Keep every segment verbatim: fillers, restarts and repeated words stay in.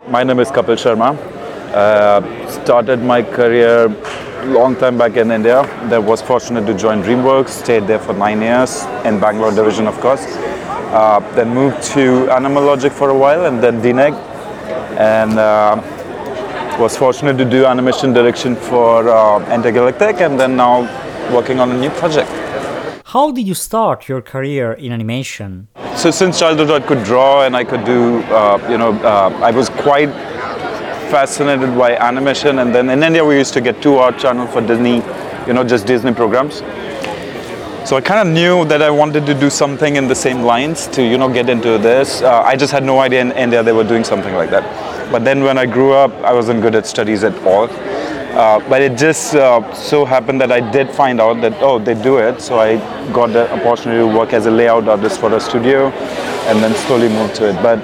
My name is Kapil Sharma. Uh, started my career long time back in India. Then was fortunate to join DreamWorks, stayed there for nine years in Bangalore division, of course. Uh, then moved to Animal Logic for a while, and then D N E G, and uh, was fortunate to do animation direction for uh, Intergalactic, and then now working on a new project. How did you start your career in animation? So since childhood I could draw and I could do, uh, you know, uh, I was quite fascinated by animation, and then in India we used to get two art channels for Disney, you know, just Disney programs. So I kind of knew that I wanted to do something in the same lines to, you know, get into this. Uh, I just had no idea in India they were doing something like that. But then when I grew up, I wasn't good at studies at all. Uh, but it just uh, so happened that I did find out that, oh, they do it. So I got the opportunity to work as a layout artist for a studio and then slowly moved to it. But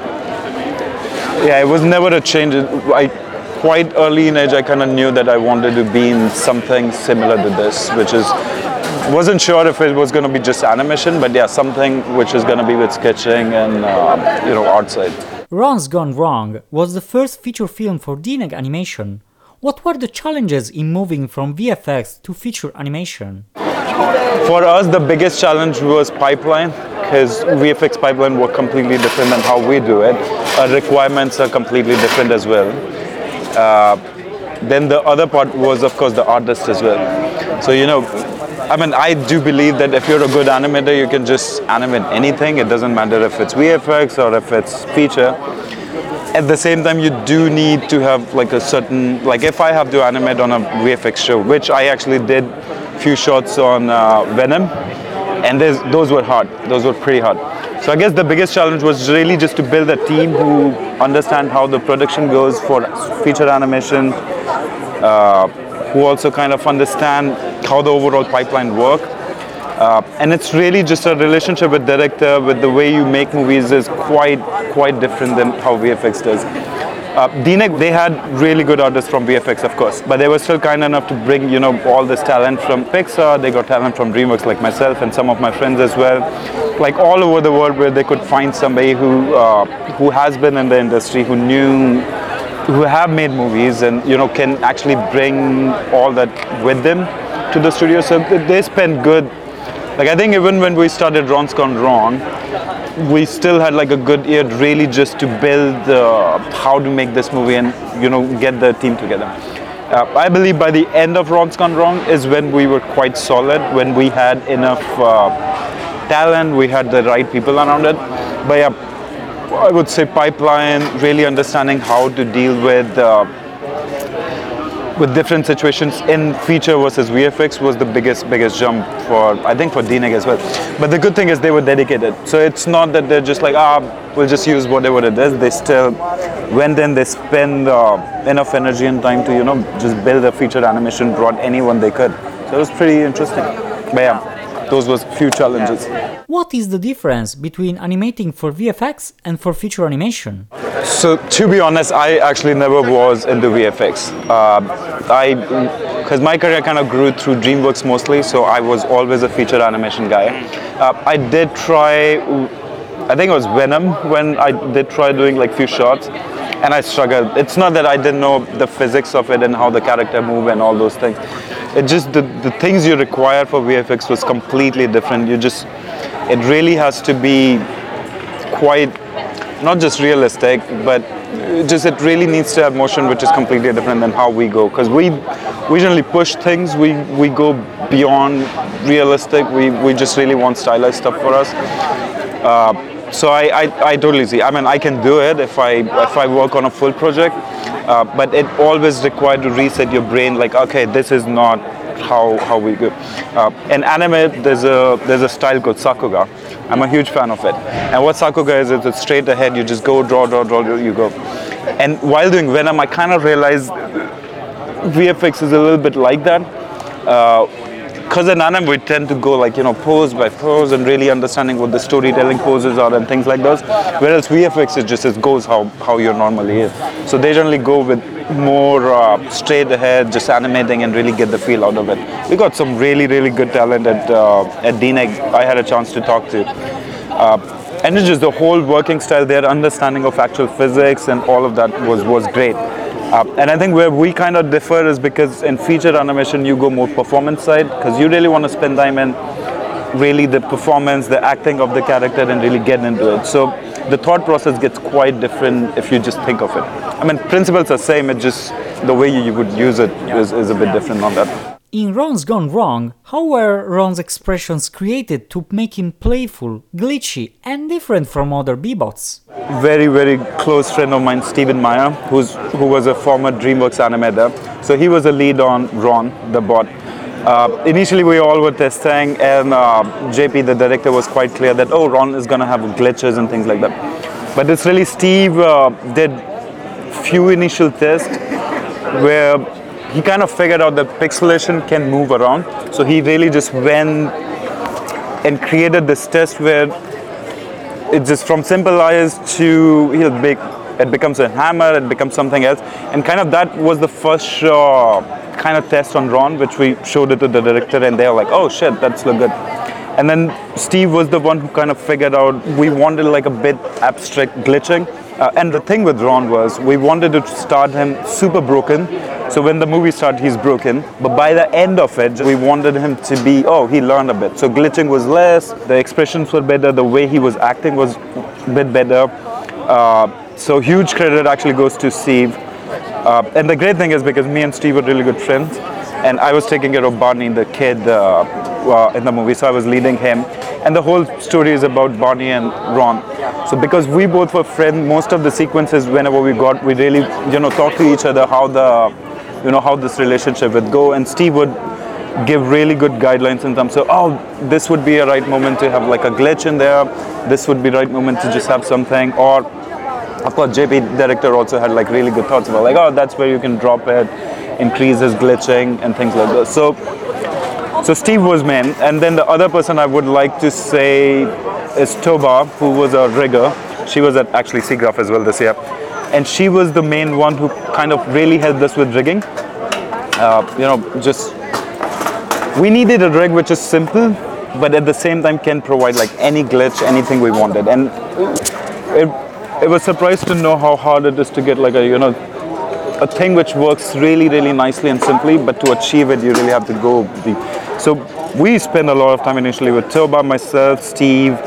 yeah, it was never a change. I, quite early in age, I kind of knew that I wanted to be in something similar to this, which is, wasn't sure if it was going to be just animation, but yeah, something which is going to be with sketching and, uh, you know, art side. Ron's Gone Wrong was the first feature film for D N E G animation. What were the challenges in moving from V F X to feature animation? For us, the biggest challenge was pipeline, because V F X pipeline were completely different than how we do it. Our requirements are completely different as well. Uh, then the other part was, of course, the artist as well. So, you know, I mean, I do believe that if you're a good animator, you can just animate anything. It doesn't matter if it's V F X or if it's feature. At the same time, you do need to have like a certain, like if I have to animate on a V F X show, which I actually did a few shots on uh, Venom, and those were hard, those were pretty hard. So I guess the biggest challenge was really just to build a team who understand how the production goes for feature animation, uh, who also kind of understand how the overall pipeline work. Uh, and it's really just a relationship with director, with the way you make movies is quite quite different than how V F X does. Uh, D N E G, they had really good artists from V F X, of course, but they were still kind enough to bring, you know, all this talent from Pixar. They got talent from DreamWorks, like myself and some of my friends as well, like all over the world, where they could find somebody who uh, who has been in the industry, who knew, who have made movies, and you know can actually bring all that with them to the studio. So they spent good. Like I think even when we started Ron's Gone Wrong, we still had like a good year really just to build uh, how to make this movie and you know get the team together. Uh, I believe by the end of Ron's Gone Wrong is when we were quite solid, when we had enough uh, talent, we had the right people around it. But yeah, I would say pipeline, really understanding how to deal with uh, with different situations in feature versus V F X was the biggest biggest jump for, I think, for D N E G as well. But the good thing is they were dedicated. So it's not that they're just like, ah, we'll just use whatever it is. They still went in, they spend uh, enough energy and time to, you know, just build a feature animation, brought anyone they could. So it was pretty interesting. But yeah, those was few challenges. What is the difference between animating for V F X and for feature animation? So to be honest, I actually never was into V F X. Uh, I, because my career kind of grew through DreamWorks mostly, so I was always a feature animation guy. Uh, I did try, I think it was Venom when I did try doing like few shots, and I struggled. It's not that I didn't know the physics of it and how the character move and all those things. It just, the, the things you require for V F X was completely different. You just, it really has to be quite, not just realistic, but just it really needs to have motion, which is completely different than how we go. Because we, we generally push things, we, we go beyond realistic, we, we just really want stylized stuff for us. Uh, so I, I, I totally see, I mean, I can do it if I, if I work on a full project, uh, but it always required to reset your brain, like, okay, this is not how, how we go. Uh, in anime, there's a, there's a style called Sakuga. I'm a huge fan of it. And what Sakuga is, is it's straight ahead, you just go, draw, draw, draw, you go. And while doing Venom, I kind of realized V F X is a little bit like that. Because uh, in anime, we tend to go like, you know, pose by pose and really understanding what the storytelling poses are and things like those. Whereas V F X, it just it goes how, how you normally is. So they generally go with more uh, straight ahead, just animating and really get the feel out of it. We got some really, really good talent at, uh, at D N E G. I had a chance to talk to. Uh, and it's just the whole working style, their understanding of actual physics and all of that was, was great. Uh, and I think where we kind of differ is because in feature animation you go more performance side, because you really want to spend time in really the performance, the acting of the character, and really get into it. So the thought process gets quite different if you just think of it. I mean, principles are same, it's just the way you would use it is, is a bit different on that. In Ron's Gone Wrong, how were Ron's expressions created to make him playful, glitchy, and different from other B-bots? Very, very close friend of mine, Stephen Meyer, who's who was a former DreamWorks animator. So he was a lead on Ron, the bot. Uh, initially, we all were testing, and uh, J P, the director, was quite clear that, oh, Ron is going to have glitches and things like that. But it's really Steve uh, did few initial tests where he kind of figured out that pixelation can move around. So he really just went and created this test where it's just from simple eyes to he'll make it becomes a hammer, it becomes something else, and kind of that was the first uh, kind of test on Ron, which we showed it to the director, and they were like, oh shit, that's look good. And then Steve was the one who kind of figured out we wanted like a bit abstract glitching. Uh, and the thing with Ron was we wanted to start him super broken. So when the movie started, he's broken. But by the end of it, we wanted him to be, oh, he learned a bit. So glitching was less, the expressions were better, the way he was acting was a bit better. Uh, so huge credit actually goes to Steve. Uh, and the great thing is because me and Steve were really good friends, and I was taking care of Barney, the kid, uh, uh, in the movie, so I was leading him. And the whole story is about Barney and Ron. So because we both were friends, most of the sequences, whenever we got, we really, you know, talk to each other how the, you know, how this relationship would go. And Steve would give really good guidelines in terms of, oh, this would be a right moment to have like a glitch in there. This would be the right moment to just have something. Or, of course, J P, director, also had like really good thoughts about like, oh, that's where you can drop it, increase his glitching and things like that. So, so Steve was main, and then the other person I would like to say is Toba, who was a rigger. She was at actually SIGGRAPH as well this year, and she was the main one who kind of really helped us with rigging. Uh, you know, just we needed a rig which is simple, but at the same time can provide like any glitch, anything we wanted, and it. It was surprised to know how hard it is to get like a, you know, a thing which works really, really nicely and simply, but to achieve it, you really have to go deep. So we spent a lot of time initially with Toba, myself, Steve,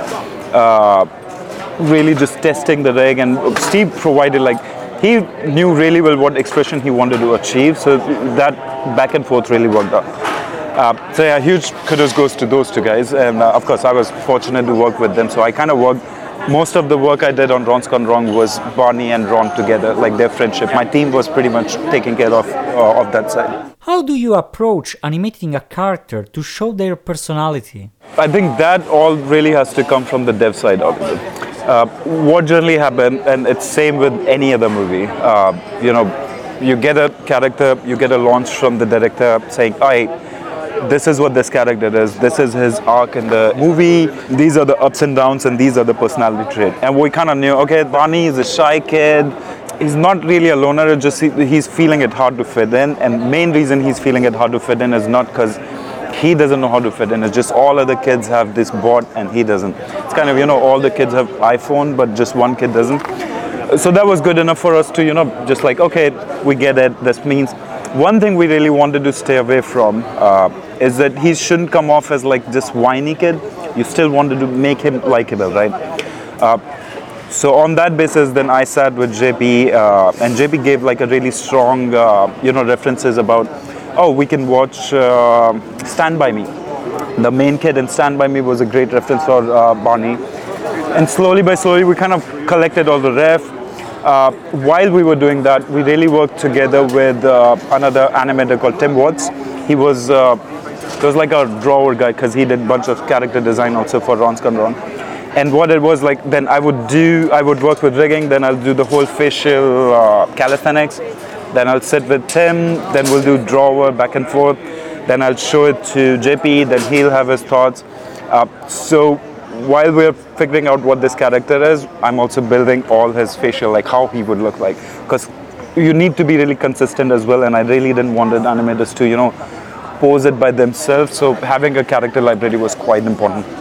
uh, really just testing the rig, and Steve provided like, he knew really well what expression he wanted to achieve, so that back and forth really worked out. Uh, so yeah, huge kudos goes to those two guys, and uh, of course I was fortunate to work with them, so I kind of worked. Most of the work I did on Ron's Gone Wrong was Barney and Ron together, like their friendship. My team was pretty much taking care of, uh, of that side. How do you approach animating a character to show their personality? I think that all really has to come from the dev side of it. Uh, what generally happens, and it's same with any other movie, uh, you know, you get a character, you get a launch from the director saying, all right, this is what this character is, this is his arc in the movie, these are the ups and downs, and these are the personality traits. And we kind of knew, okay, Barney is a shy kid, he's not really a loner, it's just he, he's feeling it hard to fit in, and main reason he's feeling it hard to fit in is not because he doesn't know how to fit in, it's just all other kids have this bot and he doesn't. It's kind of, you know, all the kids have iPhone, but just one kid doesn't. So that was good enough for us to, you know, just like, okay, we get it, this means. One thing we really wanted to stay away from uh, is that he shouldn't come off as like this whiny kid. You still wanted to make him likable, right? Uh, so on that basis, then I sat with J P, uh, and J P gave like a really strong, uh, you know, references about, oh, we can watch uh, Stand By Me. The main kid in Stand By Me was a great reference for uh, Barney. And slowly by slowly, we kind of collected all the ref. Uh, while we were doing that, we really worked together with uh, another animator called Tim Watts. He was, uh, he was like a drawer guy because he did a bunch of character design also for Ron's Gone Wrong. And what it was like, then I would do, I would work with rigging, then I'll do the whole facial uh, calisthenics, then I'll sit with Tim, then we'll do drawer back and forth, then I'll show it to J P, then he'll have his thoughts. Uh, so while we're figuring out what this character is, I'm also building all his facial, like how he would look like. Because you need to be really consistent as well, and I really didn't want the animators to, you know, pose it by themselves. So having a character library was quite important.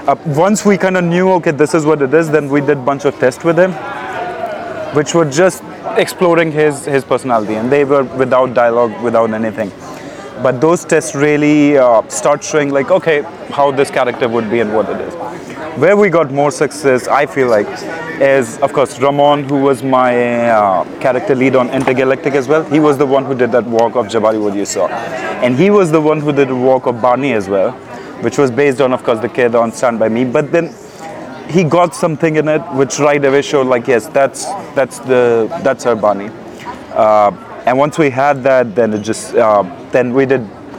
Uh, once we kind of knew, okay, this is what it is, then we did a bunch of tests with him, which were just exploring his, his personality, and they were without dialogue, without anything. But those tests really uh, start showing like, okay, how this character would be and what it is. Where we got more success, I feel like, is of course Ramon, who was my uh, character lead on Intergalactic as well. He was the one who did that walk of Jabari, what you saw. And he was the one who did the walk of Barney as well, which was based on, of course, the kid on Stand By Me. But then he got something in it which right away showed like, yes, that's that's the that's her Barney. Uh, and once we had that, then it just uh, then we did.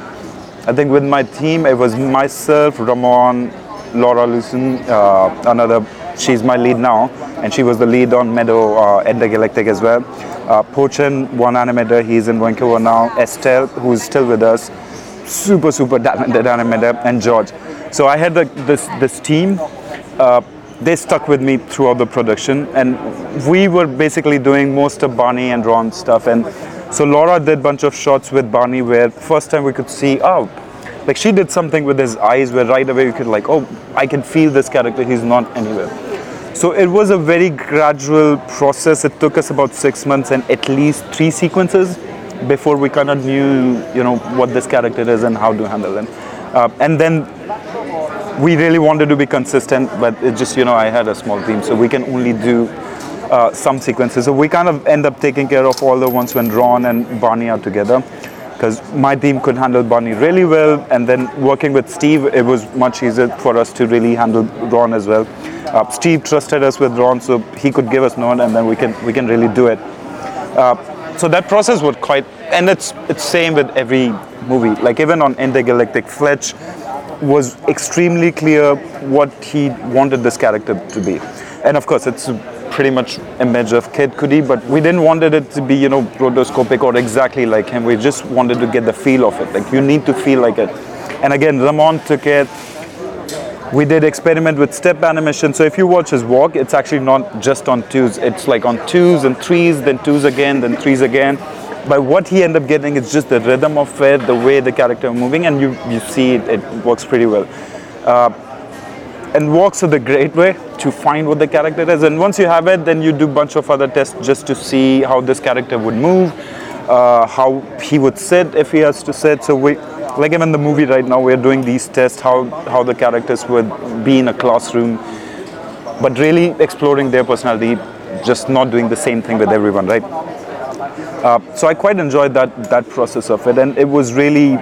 I think with my team, it was myself, Ramon, Laura Lucen, uh, another. She's my lead now, and she was the lead on Meadow uh, Intergalactic as well. Uh, Pochin, one animator, he's in Vancouver now. Estelle, who's still with us, super super talented animator, and George. So I had the, this this team. Uh, they stuck with me throughout the production, and we were basically doing most of Barney and Ron stuff. And so Laura did a bunch of shots with Barney where first time we could see, oh, like she did something with his eyes where right away you could like, oh, I can feel this character, he's not anywhere. So it was a very gradual process. It took us about six months and at least three sequences before we kind of knew, you know, what this character is and how to handle them. Uh, and then we really wanted to be consistent, but it just, you know, I had a small team, so we can only do uh, some sequences. So we kind of end up taking care of all the ones when Ron and Barney are together, because my team could handle Barney really well, and then working with Steve, it was much easier for us to really handle Ron as well. Uh, Steve trusted us with Ron, so he could give us note, and then we can we can really do it. Uh, so that process was quite, and it's it's same with every movie. Like even on Intergalactic, Fletch was extremely clear what he wanted this character to be, and of course it's pretty much image of Kid Cudi, but we didn't want it to be, you know, rotoscopic or exactly like him. We just wanted to get the feel of it. Like you need to feel like it. And again, Ramon took it. We did experiment with step animation. So if you watch his walk, it's actually not just on twos. It's like on twos and threes, then twos again, then threes again. But what he ended up getting is just the rhythm of it, the way the character is moving, and you, you see it, it works pretty well. Uh, and walks are the great way to find what the character is. And once you have it, then you do a bunch of other tests just to see how this character would move, uh, how he would sit if he has to sit. So we, like even in the movie right now, we're doing these tests, how, how the characters would be in a classroom, but really exploring their personality, just not doing the same thing with everyone, right? Uh, so I quite enjoyed that, that process of it, and it was really,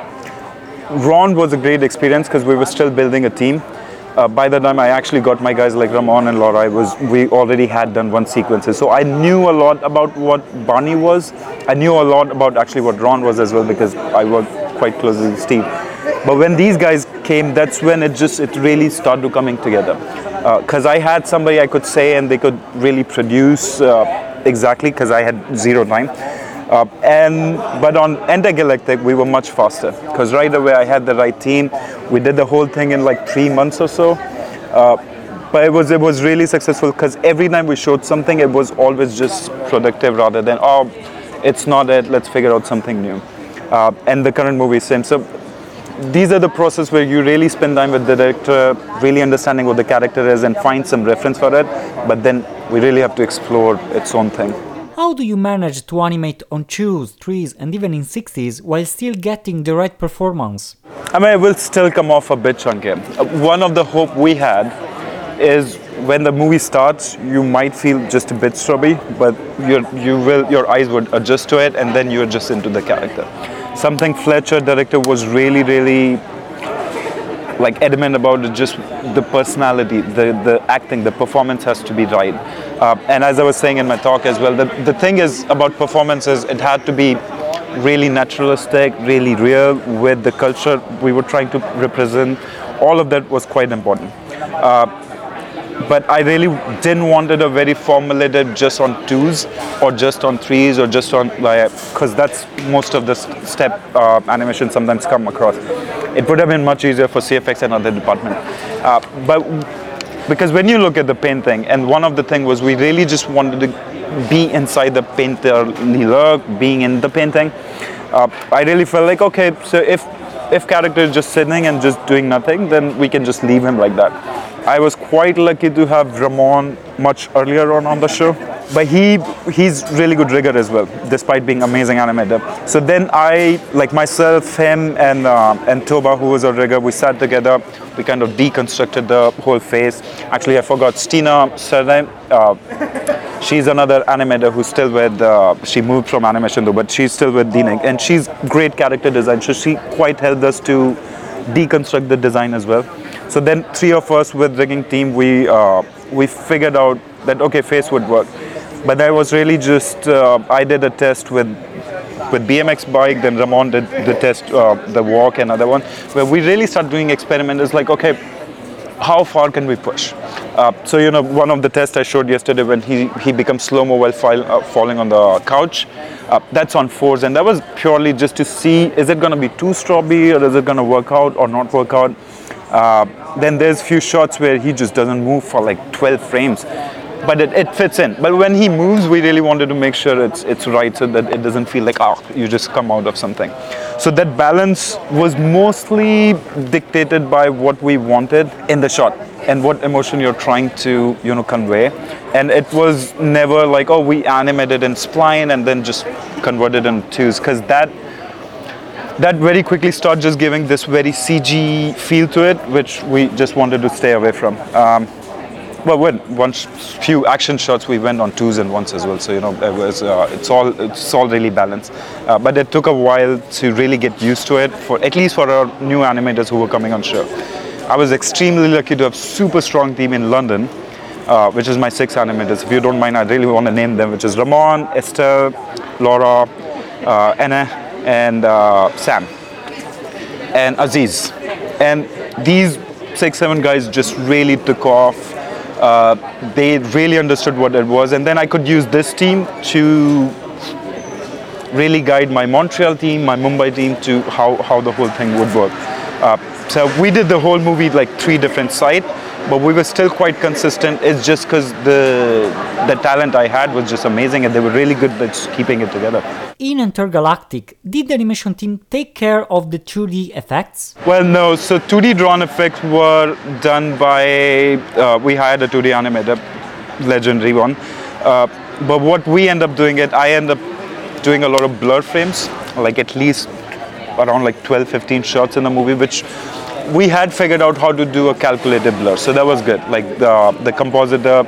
Ron was a great experience because we were still building a team. Uh, by the time I actually got my guys like Ramon and Laura, I was, we already had done one sequences. So I knew a lot about what Barney was. I knew a lot about actually what Ron was as well, because I worked quite closely with Steve. But when these guys came, that's when it just, it really started coming together. Because uh, I had somebody I could say and they could really produce uh, exactly, because I had zero time. Uh, and but on Intergalactic we were much faster, because right away I had the right team. We did the whole thing in like three months or so. Uh, but it was it was really successful, because every time we showed something, it was always just productive rather than, oh, it's not it, let's figure out something new. Uh, and the current movie is same. So these are the process where you really spend time with the director, really understanding what the character is and find some reference for it. But then we really have to explore its own thing. How do you manage to animate on twos, threes and even in sixties while still getting the right performance? I mean, it will still come off a bit chunky. Uh, one of the hope we had is when the movie starts, you might feel just a bit stubby, but you're, you will, your eyes would adjust to it, and then you're just into the character. Something Fletcher, director, was really, really like adamant about it, just the personality, the, the acting, the performance has to be right. Uh, and as I was saying in my talk as well, the, the thing is about performances, it had to be really naturalistic, really real with the culture we were trying to represent. All of that was quite important. Uh, but I really didn't want it a very formulated just on twos or just on threes or just on, like, because that's most of the step uh, animation sometimes come across. It would have been much easier for C F X and other department. Uh, but because when you look at the painting, and one of the things was we really just wanted to be inside the painterly look, being in the painting. Uh, I really felt like, okay, so if if character is just sitting and just doing nothing, then we can just leave him like that. I was quite lucky to have Ramon much earlier on on the show. But he he's really good rigger as well, despite being amazing animator. So then I, like myself, him, and uh, and Toba, who was a rigger, we sat together. We kind of deconstructed the whole face. Actually, I forgot Stina surname. Uh, she's another animator who's still with. Uh, she moved from animation though, but she's still with D N I C, and she's great character design. So she quite helped us to deconstruct the design as well. So then three of us with rigging team, we uh, we figured out that okay, face would work. But that was really just, uh, I did a test with with B M X bike, then Ramon did the test, uh, the walk, another one, where we really start doing experiments. It's like, okay, how far can we push? Uh, so, you know, one of the tests I showed yesterday when he, he becomes slow-mo while file, uh, falling on the couch, uh, that's on fours, and that was purely just to see, is it gonna be too strawberry, or is it gonna work out or not work out? Uh, then there's few shots where he just doesn't move for like twelve frames. But it, it fits in. But when he moves, we really wanted to make sure it's it's right so that it doesn't feel like, ah, you just come out of something. So that balance was mostly dictated by what we wanted in the shot and what emotion you're trying to, you know, convey. And it was never like, oh, we animated in spline and then just converted in twos, because that that very quickly started just giving this very C G feel to it, which we just wanted to stay away from. Um, Well, when one few action shots, we went on twos and ones as well. So you know, it was uh, it's all it's all really balanced. Uh, but it took a while to really get used to it. For at least for our new animators who were coming on show, I was extremely lucky to have super strong team in London, uh, which is my six animators. If you don't mind, I really want to name them, which is Ramon, Estelle, Laura, uh, Anna, and uh, Sam, and Aziz. And these six, seven guys just really took off. Uh, they really understood what it was, and then I could use this team to really guide my Montreal team, my Mumbai team to how, how the whole thing would work. Uh, so we did the whole movie like three different sites, but we were still quite consistent. It's just because the the talent I had was just amazing, and they were really good at keeping it together. In Intergalactic, did the animation team take care of the two D effects? Well, no. So two D drawn effects were done by, uh, we hired a two D animator, legendary one. Uh, but what we end up doing it, I end up doing a lot of blur frames, like at least around like twelve, fifteen shots in the movie, which we had figured out how to do a calculated blur. So that was good. Like the, the compositor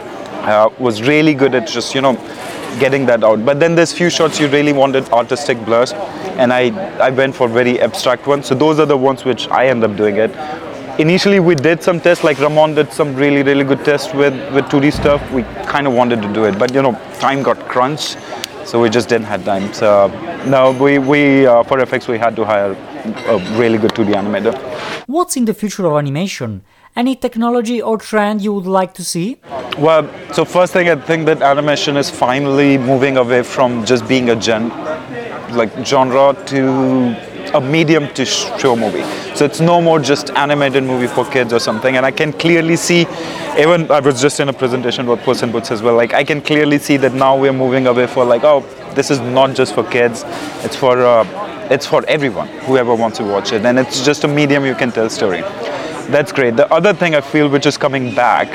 uh, was really good at just, you know, getting that out. But then there's few shots you really wanted artistic blurs, and I, I went for very abstract ones. So those are the ones which I end up doing it. Initially we did some tests, like Ramon did some really, really good tests with, with two D stuff. We kind of wanted to do it, but you know, time got crunched, so we just didn't have time. So no, we, we uh, for effects we had to hire a really good two D animator. What's in the future of animation? Any technology or trend you would like to see? Well, so first thing, I think that animation is finally moving away from just being a gen, like genre to a medium to show movie. So it's no more just animated movie for kids or something. And I can clearly see, even I was just in a presentation with Puss in Boots as well, like I can clearly see that now we're moving away for like, oh, this is not just for kids, it's for uh, it's for everyone, whoever wants to watch it. And it's just a medium you can tell story. That's great. The other thing I feel which is coming back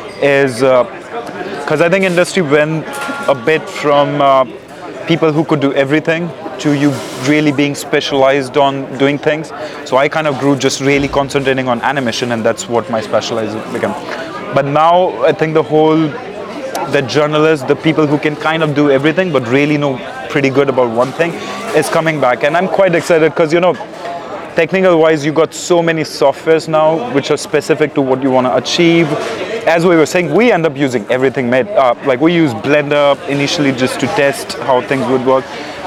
is, because uh, I think industry went a bit from uh, people who could do everything to you really being specialized on doing things. So I kind of grew just really concentrating on animation, and that's what my specialization became. But now I think the whole, the journalists, the people who can kind of do everything but really know pretty good about one thing is coming back. And I'm quite excited because, you know, technical wise, you got so many softwares now which are specific to what you want to achieve. As we were saying, we end up using everything made up. Like we use Blender initially just to test how things would work.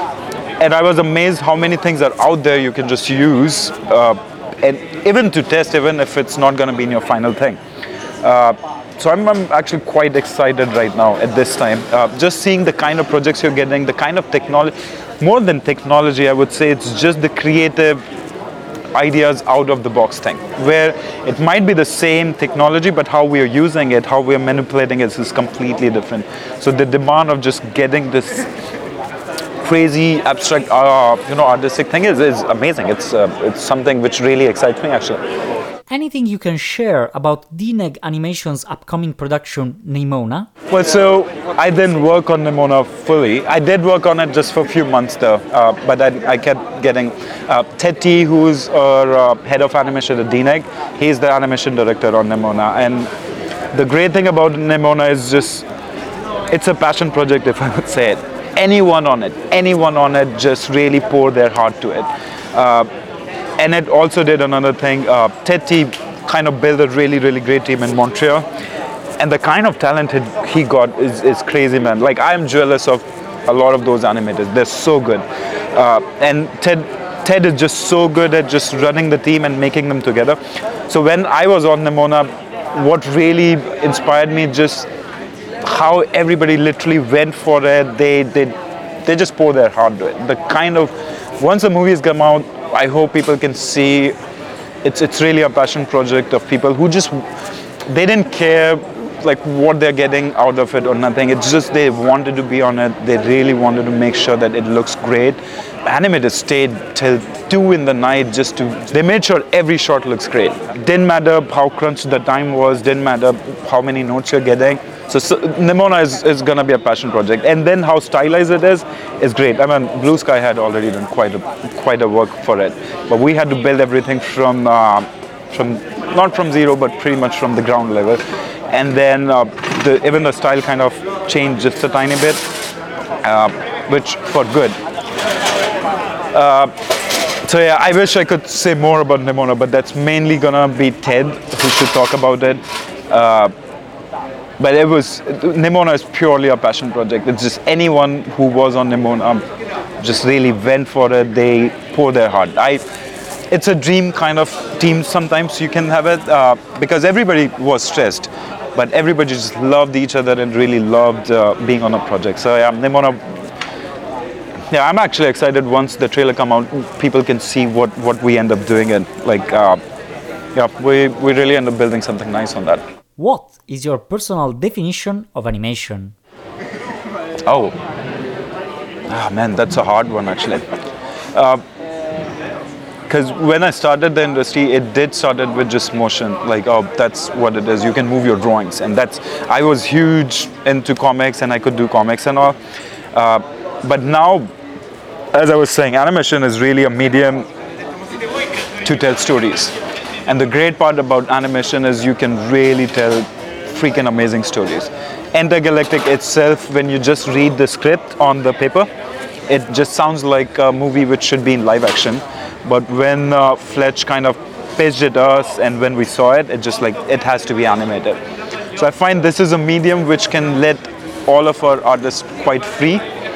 And I was amazed how many things are out there you can just use, uh, and even to test, even if it's not going to be in your final thing. Uh, so I'm, I'm actually quite excited right now at this time. Uh, just seeing the kind of projects you're getting, the kind of technology, more than technology, I would say it's just the creative ideas out of the box thing, where it might be the same technology, but how we are using it, how we are manipulating it is completely different. So the demand of just getting this crazy abstract, uh, you know, artistic thing is, is amazing. It's uh, it's something which really excites me actually. anything you can share about D N E G Animation's upcoming production, Nimona? Well, so I didn't work on Nimona fully. I did work on it just for a few months though, uh, but I, I kept getting uh, Ted T, who's our uh, head of animation at D N E G, he's the animation director on Nimona. And the great thing about Nimona is just, it's a passion project, if I would say it. Anyone on it, anyone on it just really pour their heart to it. Uh, and it also did another thing, uh, Ted T kind of built a really, really great team in Montreal. And the kind of talent he got is, is crazy, man. Like, I'm jealous of a lot of those animators. They're so good. Uh, and Ted, Ted is just so good at just running the team and making them together. So when I was on Nimona, what really inspired me just how everybody literally went for it. They, they, they just pour their heart to it. The kind of, once the movies come out, I hope people can see it's, it's really a passion project of people who just, they didn't care like what they're getting out of it or nothing. It's just they wanted to be on it. They really wanted to make sure that it looks great. Animators stayed till two in the night just to, they made sure every shot looks great. Didn't matter how crunched the time was, didn't matter how many notes you're getting. So, so Nimona is, is gonna be a passion project. And then how stylized it is, is great. I mean, Blue Sky had already done quite a, quite a work for it. But we had to build everything from, uh, from not from zero, but pretty much from the ground level. And then uh, the, even the style kind of changed just a tiny bit, uh, which for good. Uh, so yeah, I wish I could say more about Nimona, but that's mainly gonna be Ted who should talk about it. Uh, but it was, Nimona is purely a passion project. It's just anyone who was on Nimona just really went for it. They pour their heart. I, it's a dream kind of team sometimes you can have it uh, because everybody was stressed. But everybody just loved each other and really loved uh, being on a project. So yeah, Nimona, yeah, I'm actually excited once the trailer come out, people can see what, what we end up doing and like, uh, yeah, we, we really end up building something nice on that. What is your personal definition of animation? Oh, ah, man, that's a hard one actually. Uh, Because when I started the industry, it did started with just motion. Like, oh, that's what it is. You can move your drawings, and that's. I was huge into comics, and I could do comics and all. Uh, but now, as I was saying, animation is really a medium to tell stories. And the great part about animation is you can really tell freaking amazing stories. Enter Galactic itself, when you just read the script on the paper, it just sounds like a movie which should be in live action. But when uh, Fletch kind of pitched it us and when we saw it, it just like, it has to be animated. So I find this is a medium which can let all of our artists quite free.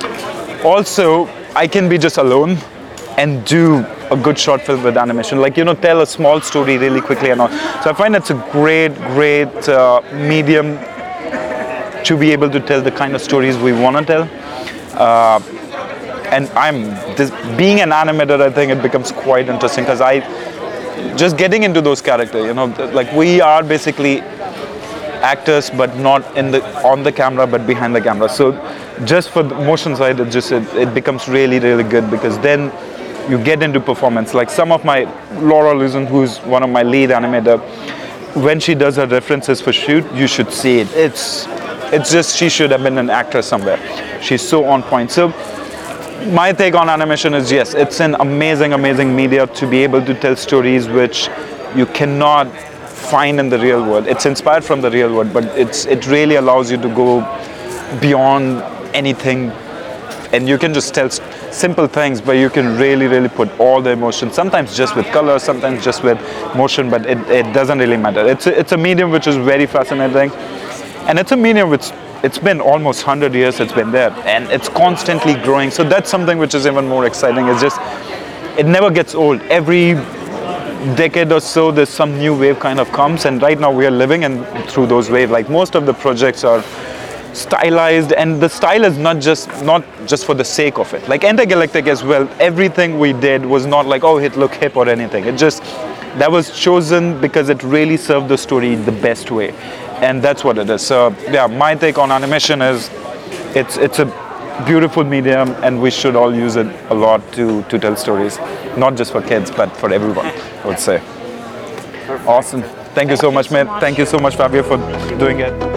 Also, I can be just alone and do a good short film with animation. Like, you know, tell a small story really quickly and all. So I find it's a great, great uh, medium to be able to tell the kind of stories we want to tell. Uh, And I'm this, being an animator, I think it becomes quite interesting because I just getting into those characters. You know, like we are basically actors, but not in the on the camera, but behind the camera. So just for the motion side, it just it, it becomes really, really good because then you get into performance. Like some of my Laura Luzon, who's one of my lead animator, when she does her references for shoot, you should see it. It's it's just she should have been an actor somewhere. She's so on point. So. My take on animation is yes, it's an amazing, amazing media to be able to tell stories which you cannot find in the real world. It's inspired from the real world, but it's it really allows you to go beyond anything, and you can just tell simple things, but you can really, really put all the emotion. Sometimes just with color, sometimes just with motion, but it, it doesn't really matter. It's a, it's a medium which is very fascinating, and it's a medium which. It's been almost one hundred years it's been there and it's constantly growing. So that's something which is even more exciting. It's just, it never gets old. Every decade or so there's some new wave kind of comes, and right now we are living in through those waves. Like most of the projects are stylized, and the style is not just not just for the sake of it. Like Enter Galactic as well, everything we did was not like, oh, it look hip or anything. It just, that was chosen because it really served the story the best way. And that's what it is. So yeah, my take on animation is it's it's a beautiful medium, and we should all use it a lot to, to tell stories, not just for kids, but for everyone, I would say. Awesome. Thank you so much, man. Thank you so much, Fabio, for doing it.